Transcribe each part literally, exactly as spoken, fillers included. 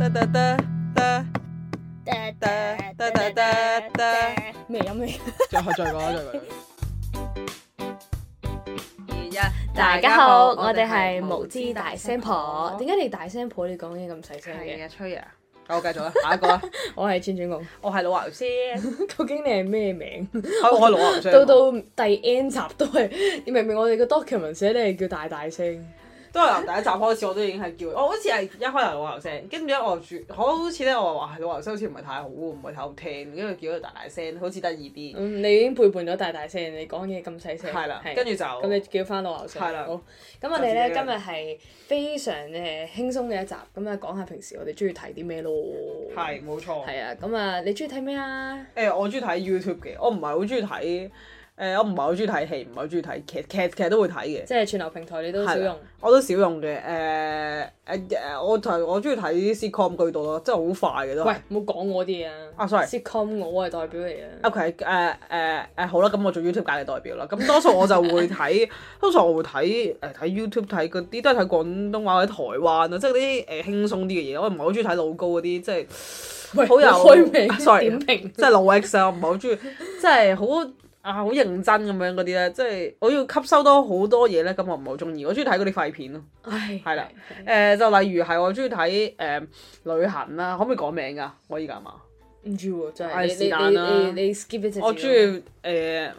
得得得得得得得得得咩音嚟？ 再再講啦，再講。二一， 大家好，我哋係無知大聲婆。點解你大聲婆你講嘢咁細聲嘅？ 係啊，吹啊！我繼續啦，下一個啦。 我係轉轉公， 我係老牛先。 究竟你係咩名？ 我係老牛先。 到到第 N 集都係，明明我哋個 document 寫你係叫大大聲。 都係由第一集開始，我都已經係叫我好似係一開頭老牛聲，跟住咧我住好似咧我話老牛聲好似唔係太好，唔係太好聽，跟住叫佢大大聲，好似得意啲。 嗯，你已經背叛咗大大聲，你講嘢咁細聲。 係啦，跟住就咁你叫翻老牛聲。 係啦。 好，咁我哋咧今日係非常誒輕鬆嘅一集，咁啊講下平時我哋中意睇啲咩咯。 係冇錯。 係啊，咁啊你中意睇咩啊？ 誒，我中意睇 YouTube 嘅，我唔係好中意睇。誒、呃，我唔係好中意睇戲，唔係好中意睇劇，劇劇都會睇嘅。 即係串流平台你都少用？ 我都少用嘅。誒誒誒，我就我中意睇 sitcom 居多咯，真係好快嘅都。 喂，唔好講我啲嘢啊！ 啊，sorry。 sitcom 我係代表嚟嘅。 OK，誒誒誒，好啦，咁我做 YouTube 界嘅代表啦。咁多數我就會睇，多數我會睇誒睇 YouTube 睇嗰啲都係睇廣東話或者台灣啊，即係嗰啲誒輕鬆啲嘅嘢。我唔係好中意睇老高嗰啲，即係好有開名 sorry， 點評即係老 X 啊，我唔係好中意，即係好。啊，好認真咁樣嗰啲咧，即係我要吸收多好多嘢咧，咁我唔係好中意。我中意睇嗰啲廢片咯。 唉， 係啦，誒就例如係我中意睇誒旅行啦，可唔可以講名㗎？我依家係嘛？ 唔知喎，真係係你是但啦你你你 skip 一隻。 我中意誒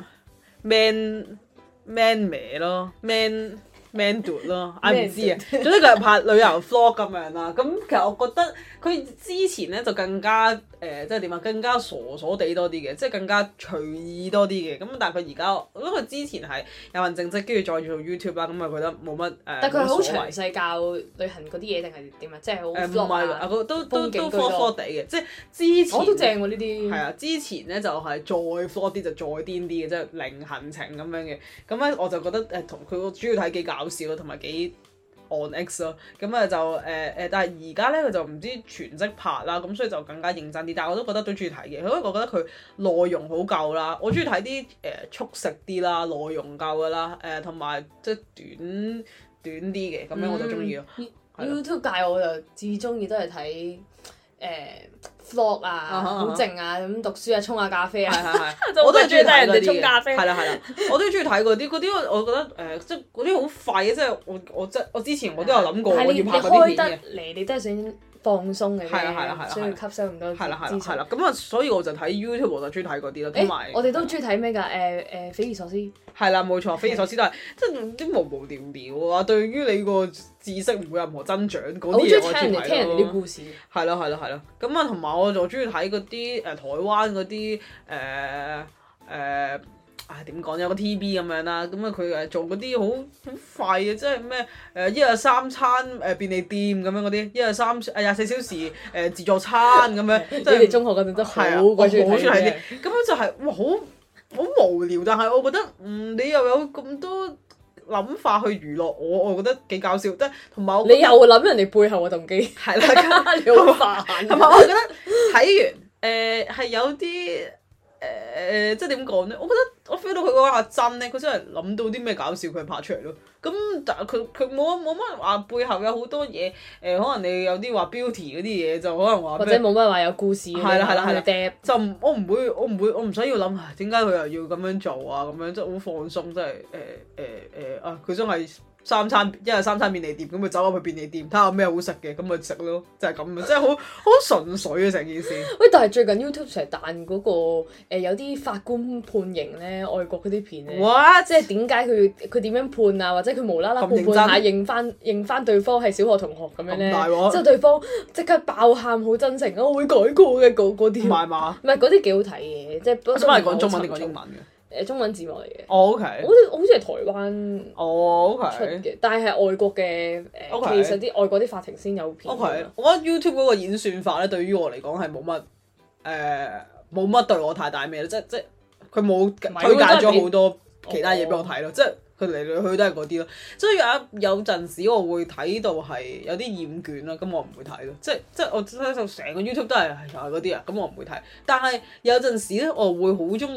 man man 咩咯 man man dude 咯，我唔知啊。總之佢係拍旅遊 vlog 咁樣啦。咁其實我覺得佢之前咧就更加誒、呃，即係點啊？更加傻傻地多啲嘅，即係更加隨意多啲嘅。咁但係佢而家，我覺得佢之前係有份正職，跟住再做 YouTube 啦，咁啊覺得冇乜誒。呃、 但佢係好冇所謂詳細教旅行嗰啲嘢定係點啊？即係好誒唔 vlog 係啊， 都都都都風景居 four 多 four 地嘅，即係之前我都正喎呢啲。 係啊，之前咧就係、是、再 four 啲就再癲啲嘅，即係零行程咁樣嘅。咁咧我就覺得誒同佢主要睇幾搞笑咯，同埋幾 on X 咯。咁啊就誒誒、呃，但係而家咧佢就唔知全職拍啦，咁所以就更加認真啲。但係我都覺得都中意睇嘅，因為我覺得佢內容好夠啦。我中意睇啲誒速食啲啦，內容夠噶啦，誒同埋即係短短啲嘅，咁樣我就中意咯。 嗯 YouTube 界我就至中意都係睇誒 vlog 啊，好靜啊，咁讀書啊，沖下咖啡啊， 係係係，我都係中意睇人哋沖咖啡。係啦係啦，我都中意睇嗰啲，嗰啲我覺得誒、呃，即係嗰啲好廢嘅，即係我我即係我之前我都有諗過我要拍嗰啲片嘅。 嚟你都係想放鬆嘅啫， 係啦係啦係啦， 需要吸收咁多係啦係啦資訊。 係啦，咁啊，所以我就睇 YouTube 我就中意睇嗰啲咯，同埋我哋都中意睇咩㗎？誒誒，匪夷所思。 係啦，冇錯，匪夷所思都係即係啲無無聊聊啊，對於你個知識唔會有任何增長嗰啲嘢，我中意睇咯。 聽人哋啲故事。 係咯係咯係咯，咁啊同埋我就中意睇嗰啲誒台灣嗰啲誒誒。唉點講有個 T V 咁樣啦，咁啊佢誒做嗰啲好好廢嘅，即係咩誒一日三餐誒便利店咁樣嗰啲，一日三誒廿四小時誒、呃、自助餐咁樣。即係你哋中學嗰陣都好鬼中意睇啲，咁樣就係、是、哇好好無聊，但係我覺得嗯你又有咁多諗法去娛樂我，我覺得幾搞笑，即係同埋我你又諗人哋背後嘅動機， 係啦， 你好煩。 同埋我覺得睇完誒係、呃、有啲。誒、呃、即係點講咧？我覺得我 feel 到佢嗰下真咧，佢真係諗到啲咩搞笑佢拍出嚟咯。咁但係佢佢冇冇乜話背後有好多嘢誒、呃，可能你有啲話 beauty 嗰啲嘢就可能話或者冇乜話有故事。 係啦係啦係啦， 啦就我唔會我唔會我唔使要諗點解佢又要咁樣做啊咁樣，即係好放鬆，即係誒誒誒啊！佢真係。三餐一日三餐便利店，咁咪走入去便利店睇下咩好食嘅，咁咪食咯，就係咁樣，即係好好純粹啊成件事。 喂，但係最近 YouTube 成日彈嗰個誒、呃、有啲法官判刑咧，外國嗰啲片咧，What? 即係點解佢佢點樣判啊？或者佢無啦啦判判下認翻認翻對方係小學同學咁樣咧，之後對方即刻爆喊好真誠，我會改過嘅嗰嗰啲。唔係嘛？唔係嗰啲幾好睇嘅，即係。我想問講中文定講英文嘅？誒中文字幕嚟嘅， 哦 OK， 好似好似係台灣哦 OK 出嘅，但係係外國嘅誒，其實啲外國啲法庭先有片。 OK，我覺得 YouTube 嗰個演算法咧，對於我嚟講係冇乜誒冇乜對我太大咩咧，即即佢冇推介咗好多其他嘢俾我睇咯，即係佢嚟嚟去都係嗰啲咯。所以有有陣時我會睇到係有啲厭倦啦，咁我唔會睇咯。即即我睇到成個 YouTube 都係係嗰啲啊，咁我唔會睇。但係有陣時咧，我會好中意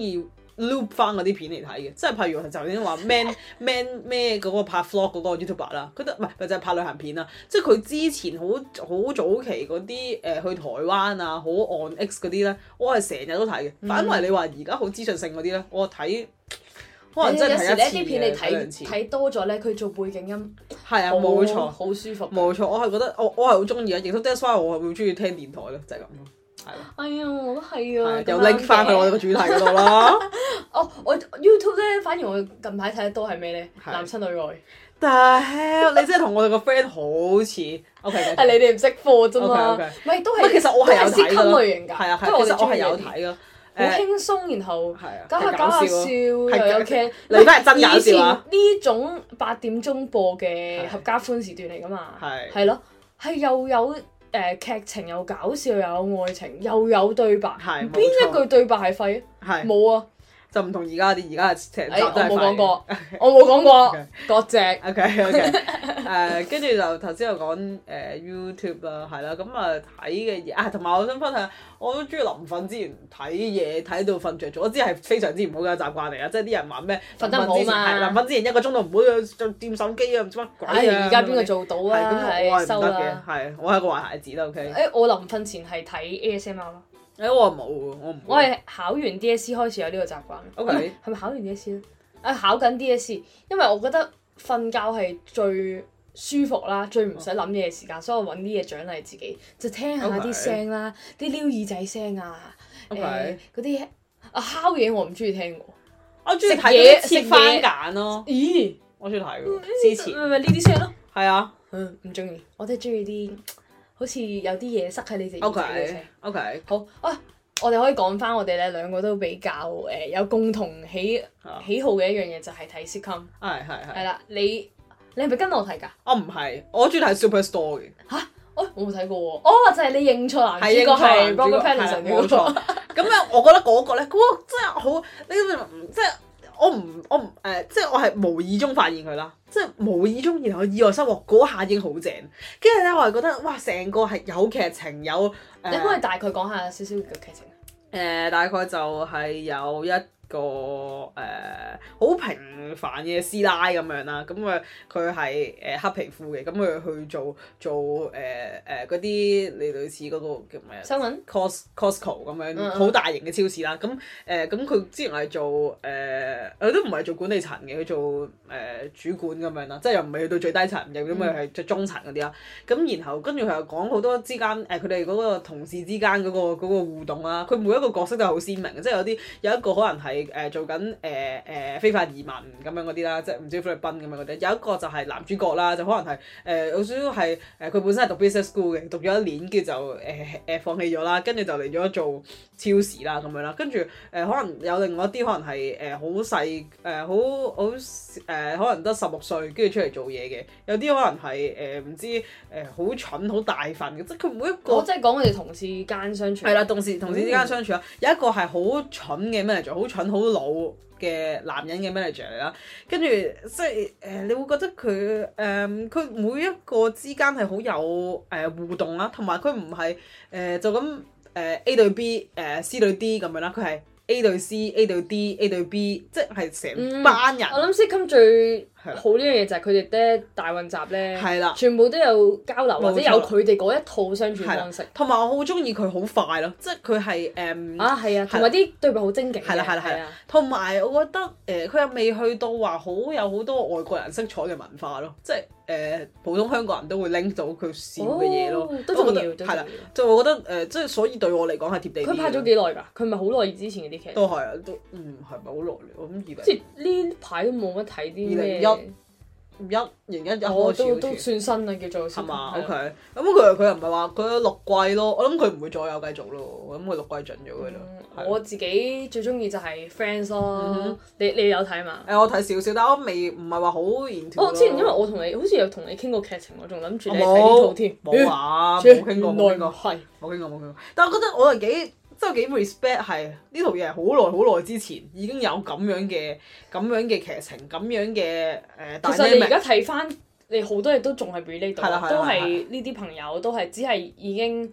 loop 翻嗰啲片嚟睇嘅，即係譬如就已經話 man man 咩嗰個拍 vlog 嗰個 YouTuber 啦，佢得唔係咪就係拍旅行片啦，即係佢之前好好早期嗰啲誒去台灣啊，好 on X 嗰啲咧，我係成日都睇嘅。嗯、反為你話而家好資訊性嗰啲咧，我睇。可能真係睇一次嘅，有時呢啲片你睇睇多咗咧，佢做背景音係啊，冇錯， 好舒服。 冇錯，我係覺得我我係好中意啊，亦都 that's why 我係會中意聽電台咯，就係咁咯，係咯。 哎呀，我都係啊， 又拎翻去我哋個主題嗰度啦。 哦，我 YouTube 咧，反而我近排睇得多係咩咧？男親女愛。 但係你真係同我哋個 friend 好似。O K， 係你哋唔識貨啫嘛。唔係都係， 其實我係有睇㗎。 類型㗎。 係啊係，其實我係有睇㗎。 好輕鬆，然後搞下搞下笑，又有劇。 你而家係真搞笑啊！ 呢種八點鐘播嘅合家歡時段嚟㗎嘛，係咯，係又有誒劇情，又搞笑，又有愛情，又有對白。邊一句對白係廢啊？冇啊！就唔同而家啲，而家係成集都係廢。我冇講過，我冇講過，割席。O K O K，誒跟住就頭先又講誒 YouTube 啦，係啦，咁啊睇嘅嘢啊，同埋我想分享，我都中意臨瞓之前睇嘢，睇到瞓着咗，我知係非常之唔好嘅習慣嚟啊！即係啲人話咩瞓得唔好嘛，臨瞓之前一個鐘都唔好再掂手機啊，唔知乜鬼啊！而家邊個做到啊？係咁，我係唔得嘅，係我係個壞孩子啦。O K。誒，我臨瞓前係睇 A S M R 咯。誒我冇喎，我唔。我係考完 D S E 開始有呢個習慣。O K。係咪考完 D S E 咧？啊，考緊 D S E，因為我覺得瞓覺係最舒服啦，最唔使諗嘢嘅時間，所以我揾啲嘢獎勵自己，就聽下啲聲啦，啲撩耳仔聲啊，誒嗰啲啊敲嘢我唔中意聽喎。我中意睇嘢切番梘咯。咦？我中意睇喎。之前。咪咪呢啲聲咯。係啊。嗯，唔中意，我都係中意啲。好似有啲嘢塞喺你隻耳仔嘅聲。O K。好啊，我哋可以講翻我哋咧兩個都比較誒、呃、有共同喜喜好嘅一樣嘢，就係睇 sitcom。係係係。係啦，你你係咪跟我睇㗎？我唔係，我中意睇 Superstore 嘅。嚇！哦，我冇睇過喎。哦，就係、是、你認錯男主角係 Robert Pattinson 嘅嗰個。咁樣我覺得嗰個咧，嗰、那個真係好，你即係。我唔我唔誒、呃，即係我係無意中發現佢啦，即係無意中，然後意外收穫嗰下已經好正，跟住咧我係覺得哇，成個係有劇情有誒。呃、你可唔可以大概講下少少嘅劇情？誒、呃，大概就係有一個誒好、呃、平凡嘅師奶咁樣啦，咁佢佢係誒黑皮膚嘅，咁佢去做做誒誒嗰啲你類似嗰個叫咩啊？新聞 Cos Costco 咁樣好、嗯、大型嘅超市啦，咁誒咁佢之前係做誒，佢、呃、都唔係做管理層嘅，佢做誒、呃、主管咁樣啦，即係又唔係去到最低層，又咁咪係最中層嗰啲啦。咁然後跟住佢又講好多之間誒佢哋嗰個同事之間嗰、嗰個嗰個互動啦，佢每一個角色都係好鮮明嘅，即係有啲有一個可能係誒、呃、做緊誒誒非法移民咁樣嗰啲啦，即係唔知菲律賓咁樣嗰啲。有一個就係男主角啦，就可能係誒有少少係誒佢本身係讀 business school 嘅，讀咗一年跟住就誒誒、呃、放棄咗啦，跟住就嚟咗做超市啦咁樣啦。跟住誒可能有另外一啲可能係誒好細誒好好誒可能得十六歲跟住出嚟做嘢嘅，有啲可能係誒唔知誒好、呃、蠢好大份嘅，即係佢每一個。我即係講佢哋同事間相處。係啦，同事同事之間相處啦，有一個係好蠢嘅 manager，好蠢好老嘅男人嘅 manager 嚟啦，跟住即係誒、呃，你會覺得佢誒佢每一個之間係好有誒、呃、互動啦，同埋佢唔係誒就咁誒、呃、A 對 B 誒、呃、C 對 D 咁樣啦，佢係 A 對 C、A 對 D、A 對 B， 即係成班人。嗯、我諗 sitcom 最好呢樣嘢就係佢哋咧大混雜咧，的全部都有交流或者有佢哋嗰一套相處方式。同埋我好中意佢好快咯，即係佢係誒啊係啊，同埋啲對白好精警嘅。係啦係啦係啦。同埋我覺得誒佢又未去到話好有好多外國人色彩嘅文化咯，即係誒、呃、普通香港人都會拎到佢笑嘅嘢咯。都重要，係啦，就我覺得誒、呃、即係所以對我嚟講係貼地。佢拍咗幾耐㗎？佢咪好耐之前嗰啲劇？都係啊，都嗯係咪好耐？我諗二零即係呢排都冇乜睇啲咩。一二零一一開始都都算新啦，叫做係嘛？OK，咁佢佢又唔係話佢有六季咯，我諗佢唔會再有繼續咯，我諗佢六季盡咗嘅啦。我自己最中意就係 Friends 咯，你你有睇嘛？誒，我睇少少，但我未唔係話好研究。我之前因為我同你好似有同你傾過劇情，我仲諗住你睇呢套添。冇啊，冇傾過，冇傾過，係冇傾過冇傾過。但係我覺得我係幾。真係幾 respect 係呢套嘢係好耐好耐之前已經有咁樣嘅咁樣嘅劇情咁樣嘅誒。呃、其實你而家睇翻，你好多嘢都仲係 relate 到，都係呢啲朋友都係只係已經誒、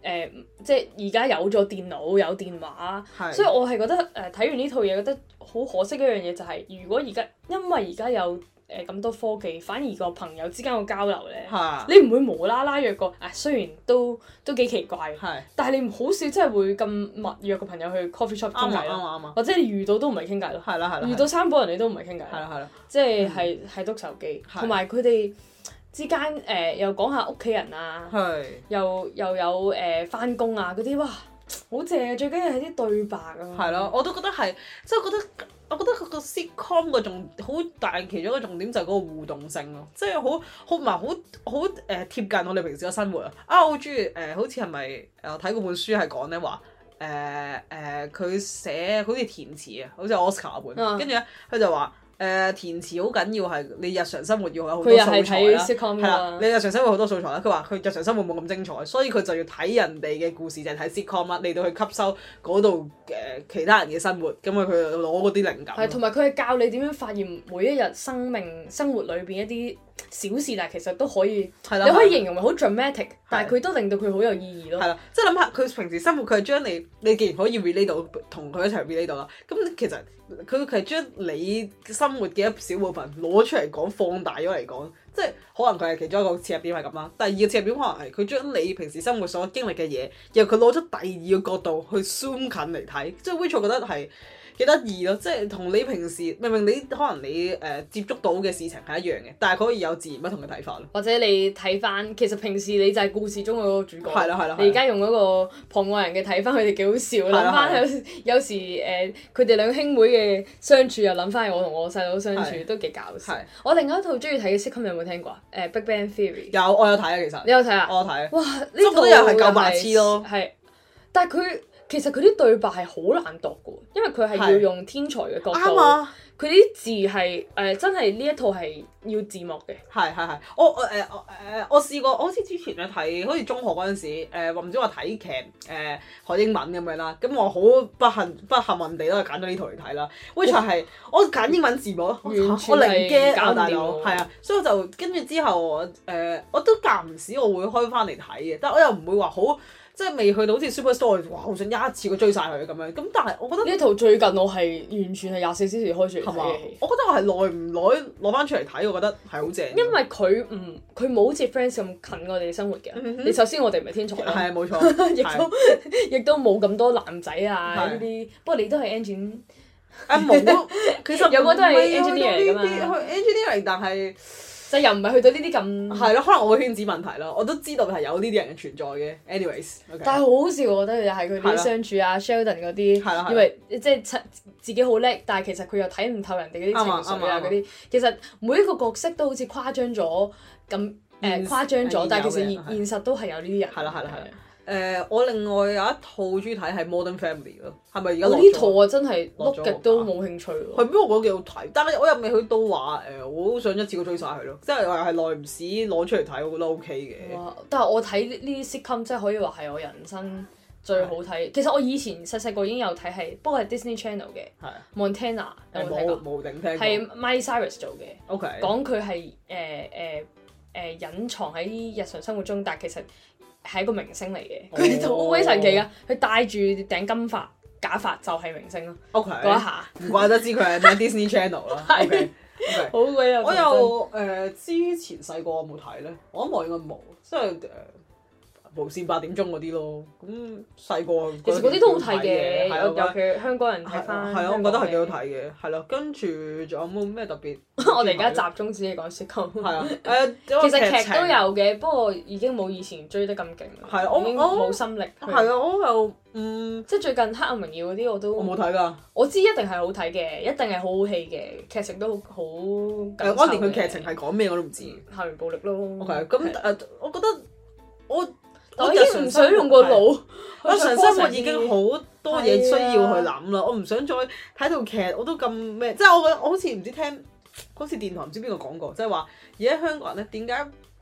誒，即係而家有咗電腦有電話，所以我係覺得誒睇完呢套嘢覺得好可惜一樣嘢就係，如果而家因為而家有誒咁多科技，反而個朋友之間個交流咧，你唔會無啦啦約個啊，雖然都都幾奇怪，但係你好少真係會咁密約個朋友去 coffee shop 傾偈咯，或者你遇到都唔係傾偈咯，遇到三個人你都唔係傾偈，即係係係篤手機，同埋佢哋之間誒、呃、又講下屋企人啊，是又又有誒返工啊嗰啲，哇好正啊！最緊要係啲對白啊。 係咯，我都覺得係，即係覺得我覺得佢個 sitcom 個重好大其中一個重點就係嗰個互動性咯，即係好好唔係好好誒貼近我哋平時嘅生活啊！啊，我好中意誒，好似係咪誒我睇嗰本書係講咧話誒誒佢寫好似填詞啊，好似 Oscar 本，跟住咧佢就話。誒、呃、填詞好緊要係你日常生活要有好多素材啦，係啦，你日常生活好多素材啦。佢話佢日常生活冇咁精彩，所以佢就要睇人哋嘅故事，就係睇 sitcom 啦，嚟到去吸收嗰度誒其他人嘅生活，咁啊佢就攞嗰啲靈感。 係，同埋佢係教你點樣發現每一日生命生活裏邊一啲小事，但係其實都可以，你可以形容為好 dramatic，但係佢都令到佢好有意義咯。係啦， 即係諗下佢平時生活，佢係將你你既然可以 relate 到同佢一齊 relate 到啦，咁其實佢佢係將你生活嘅一小部分攞出嚟講，放大咗嚟講，即係可能佢係其中一個切入點係咁啦。第二個切入點可能係佢將你平時生活所經歷嘅嘢，然後佢攞咗第二個角度去 zoom 近嚟睇，即係 which 我覺得係幾得意咯，即係同你平時明明你可能你誒、呃、接觸到嘅事情係一樣嘅，但係佢可以有自然不同嘅睇法咯。 或者你睇翻，其實平時你就係故事中嗰個主角。 係啦係啦。 你而家用嗰個旁外人嘅睇翻，佢哋幾好笑。諗翻有有時誒，佢哋兩兄妹嘅相處，又諗翻我同我細佬相處，都幾搞笑。我另外一套中意睇嘅 sitcom 有冇聽過啊？誒《Big Bang Theory》。 有，我有睇啊，其實。 你有睇啊？ 我有睇。 哇！呢套又係夠白痴咯。 係，但係佢。其實佢啲對白係好難讀嘅，因為佢係要用天才嘅角度，佢啲字係誒、呃、真係呢一套係要字幕嘅。 係係係，我我誒我誒我試過，我好似之前咧睇，好似中學嗰陣時誒，話唔知話睇劇誒學英文咁樣啦，咁我好不幸不幸運地都係揀咗呢套嚟睇啦。which 係我揀英文字幕， 完全我零驚搞唔大佬，係啊，所以我就跟住之後誒、呃，我都間唔時我會開翻嚟睇嘅，但係我又唔會話好。即係未去到好似 Superstore， 哇！好想一次過追晒佢咁樣。咁但係我覺得呢套最近我係完全係廿四小時開住嚟睇嘅戲。 我覺得我係耐唔耐攞翻出嚟睇，我覺得係好正。 因為佢唔佢冇好似 Friends 咁近我哋生活嘅。嗯、你首先我哋唔係天才啦。 係啊，冇錯。 亦都亦都冇咁多男仔啊呢啲。不過你都係 engine。 啊冇，其實有個都係 engineer 嚟㗎嘛。 去 engineer 但係。 就又唔係去到呢啲咁係咯，可能我嘅圈子問題咯，我都知道係有呢啲人嘅存在嘅。anyways，、okay. 但係好好笑，我覺得又係佢啲相處啊 ，Sheldon 嗰啲，以為即係自己好叻，但係其實佢又睇唔透人哋嗰啲情緒啊嗰啲。其實每一個角色都好似誇張咗咁誒誇張咗，但係其實現現實都係有呢啲人。 係啦係啦係。誒、呃，我另外有一套中意睇係 Modern Family 咯，係咪而家？ 我呢套啊真係碌極都冇興趣喎。 係咩？我覺得幾好睇，但係我又未去到話誒、呃，我好想一次過追晒佢咯。即係話係耐唔時攞出嚟睇，我覺得 OK 嘅。 哇！但係我睇呢啲 sitcom 即係可以話係我人生最好睇。其實我以前細細個已經有睇係，不過係 Disney Channel 嘅。係。Montana 有冇睇過？ 冇定聽過。 係 Miley Cyrus 做嘅。 OK。 講佢係誒誒誒隱藏喺日常生活中，但係其實。係一個明星嚟嘅，佢哋好鬼神奇噶，佢戴住頂金髮假髮就係明星咯。 OK， 嗰一下唔怪得知佢係咩 Disney Channel 啦。OK， 好鬼有。 我又誒之前細個有冇睇咧？我諗我應該冇，即係誒無線八點鐘嗰啲咯。咁細個其實嗰啲都好睇嘅，尤尤其香港人睇翻。 係啊，我覺得係幾好睇嘅。係咯，跟住仲有冇咩特別？ 我哋而家集中只係講 sitcom。 係啊，誒， 其實劇都有嘅，不過已經冇以前追得咁勁啦。 係啊，我已經冇心力。 係啊，我又嗯， 即係最近《黑暗榮耀》嗰啲我都我冇睇㗎。 我知一定係好睇嘅，一定係好好戲嘅，劇情都好好。誒， 我連佢劇情係講咩我都唔知。 校園暴力咯。 OK，咁誒，我覺得我我已經唔想用個腦。 我日常生活已經好多嘢需要去諗啦，我唔想再睇套劇，我都咁咩？即係我覺得我好似唔知聽，好似電台唔知邊個講過，即係話而家香港人咧點解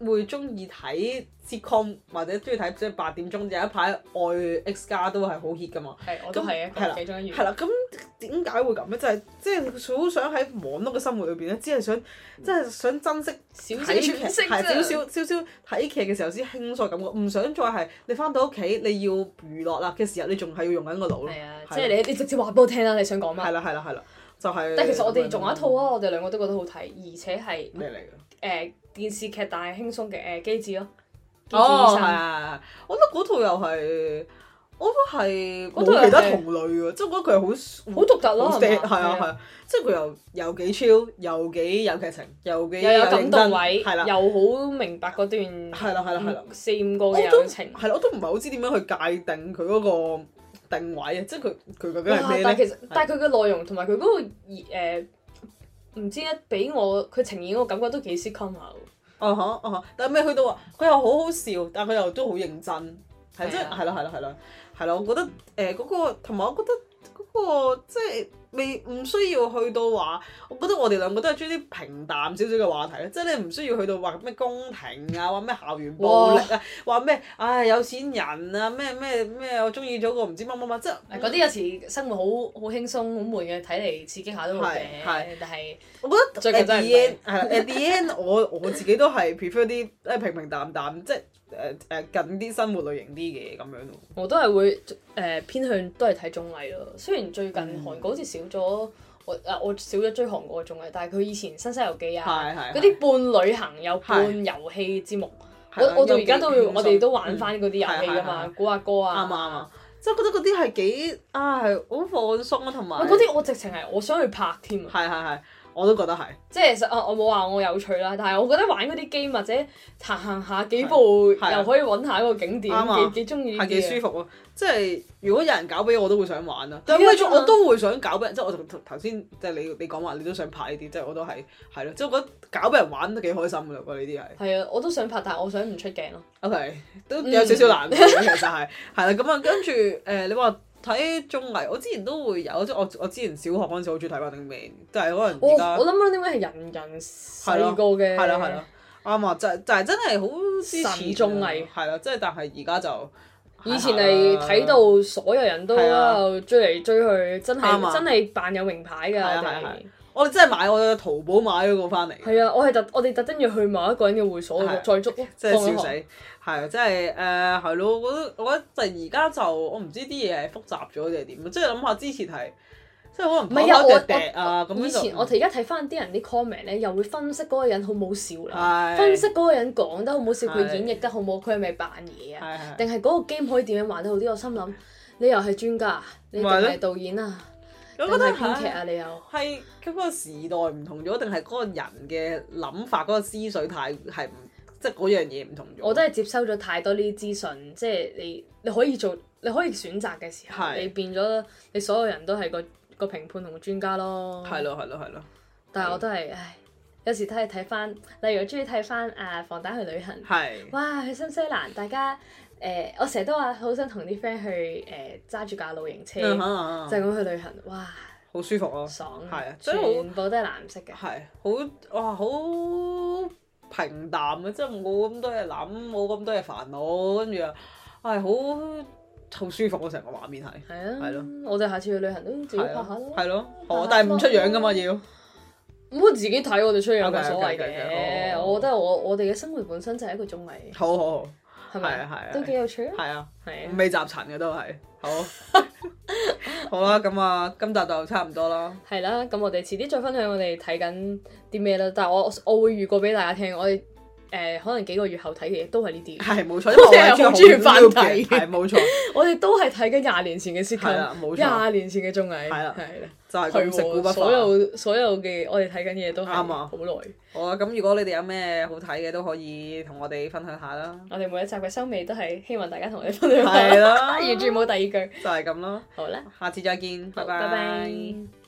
會中意睇 sitcom 或者中意睇即係八點鐘有一排愛 X 家都係好 hit 噶嘛。 係，我都係啊，其中一員。 係啦，咁點解會咁咧？就係即係好想喺忙碌嘅生活裏邊咧，只係想即係想珍惜睇劇，係少少少少睇劇嘅時候先輕鬆感覺，唔想再係你翻到屋企你要娛樂啦嘅時候，你仲係要用緊個腦咯。 係啊，即係你你直接話俾我聽啦，你想講乜？ 係啦係啦係啦，就係。 但係其實我哋仲有一套啊，我哋兩個都覺得好睇，而且係咩嚟嘅？誒電視劇但係輕鬆嘅誒機智咯。 哦，係係係，我覺得嗰套又係，我都係冇其他同類喎，即係我覺得佢係好好獨特咯， 係啊係啊，即係佢又又幾 chill，又幾有劇情，又幾又有感動位， 係啦， 又好明白嗰段係啦係啦係啦四五個嘅友情， 係啦，我都唔係好知點樣去界定佢嗰個定位啊，即係佢佢究竟係咩咧？ 但係其實但係佢嘅內容同埋佢嗰個誒唔知咧，俾我佢呈現嗰個感覺都幾 sitcom 下喎。 啊哈啊哈，但係未去到話佢又好好笑，但係佢又都好認真，係即係係啦係啦係啦係啦，我覺得誒嗰個同埋我覺得嗰個即係未唔需要去到話，我覺得我哋兩個都係中意啲平淡少少嘅話題咧，即係你唔需要去到話咩宮廷啊，話咩校園暴力啊，話咩唉有錢人啊，咩咩咩我中意咗個唔知乜乜乜，即係嗰啲有時生活好好輕鬆好悶嘅，睇嚟刺激下都好嘅，但係我覺得最近真係 at the end 係啦 at the end 我我自己都係 prefer 啲誒平平淡淡，即係誒誒近啲生活類型啲嘅咁樣咯。 我都係會誒、呃、偏向都係睇綜藝咯，雖然最近韓國好似少咗。我啊我少咗追韓國嘅綜藝，但係佢以前《新西遊記》啊，嗰啲半旅行又半遊戲節目，我我到而家都會，我哋都玩翻嗰啲遊戲㗎嘛，估下歌啊， 啱啱啊，即係覺得嗰啲係幾啊係好放鬆啊，同埋嗰啲我直情係我想去拍添啊， 係係係，我都覺得係， 即係實啊我冇話我有趣啦，但係我覺得玩嗰啲 game 或者行行下幾步又可以揾下一個景點，幾幾中意， 係幾舒服咯。即係如果有人搞俾我，我都會想玩啦。但係我都會想搞俾人，即係我頭先即係你你講話你都想拍呢啲，即係我都係係咯，即係我覺得搞俾人玩都幾開心㗎啦喎，呢啲係。係啊，我都想拍，但係我想唔出鏡咯。 OK，都有少少難度嘅其實係係啦，咁啊跟住誒你話。睇綜藝，我之前都會有，即係我我之前小學嗰陣時好中意睇《Running Man》，但係可能而家我諗 Running Man 係人人細個嘅， 係啦係啦，啱啊！就就係真係好神綜藝， 係啦，即係但係而家就以前係睇到所有人都喺度追嚟追去，真係真係扮有名牌㗎我哋。 我哋真係買我哋淘寶買咗個翻嚟。 係啊，我係特我哋特登要去某一個人嘅會所再捉咯， 真係笑死。係啊，即係誒係咯，我覺得我覺得就係而家就我唔知啲嘢係複雜咗定係點，即係諗下之前係即係可能唔係啊我啊咁。以前我哋而家睇翻啲人啲 comment 咧，又會分析嗰個人好冇笑啦，分析嗰個人講得好冇笑，佢演繹得好冇，佢係咪扮嘢啊？定係嗰個 game 可以點樣玩得好啲？我心諗你又係專家，你定係導演啊？ 我覺得係編劇啊，你又係嗰個時代唔同咗，定係嗰個人嘅諗法、嗰、嗰個思緒太係唔即係嗰樣嘢唔同咗。 我都係接收咗太多呢啲資訊，即係你你可以做，你可以選擇嘅時候，是你變咗你所有人都係個個評判同專家咯。 係咯係咯係咯。 但係我都係唉，有時睇睇翻，例如我中意睇翻啊防彈去旅行。 係是。 哇！去新西蘭，大家。誒、呃，我成日都話好想同啲 friend 去誒揸住架露營車，嗯嗯嗯、就咁去旅行，哇！ 好舒服咯， 爽， 係啊， 全部都係藍色嘅， 係好哇，好平淡啊，即係冇咁多嘢諗，冇咁多嘢煩惱，跟住啊，係好好舒服咯，成個畫面係， 係啊， 係咯， 我哋下次去旅行都自己拍下咯， 係咯，好，但係唔出樣噶嘛要， 咁我自己睇我哋出樣冇所謂嘅，我覺得我我哋嘅生活本身就係一個綜藝， 好好好。 係咪啊？係啊，都幾有趣啊！ 係啊，係啊，未集塵嘅都係，好，好啦，咁啊，今集就差唔多啦。係啦，咁我哋遲啲再分享我哋睇緊啲咩啦。但係我我會預告俾大家聽，我哋誒可能幾個月後睇嘅嘢都係呢啲。係冇錯，因為我係好中意翻睇。係冇錯，我哋都係睇緊廿年前嘅 sitcom，係啦，冇錯，廿年前嘅綜藝。係啦，係啦，就係咁食古不化。所有所有嘅我哋睇緊嘢都係啱啊，好耐。好啊，咁如果你哋有咩好睇嘅都可以同我哋分享下啦。我哋每一集嘅收尾都係希望大家同我哋分享下。係啦，完全冇第二句。就係咁咯。好啦，下次再見，拜拜。拜拜。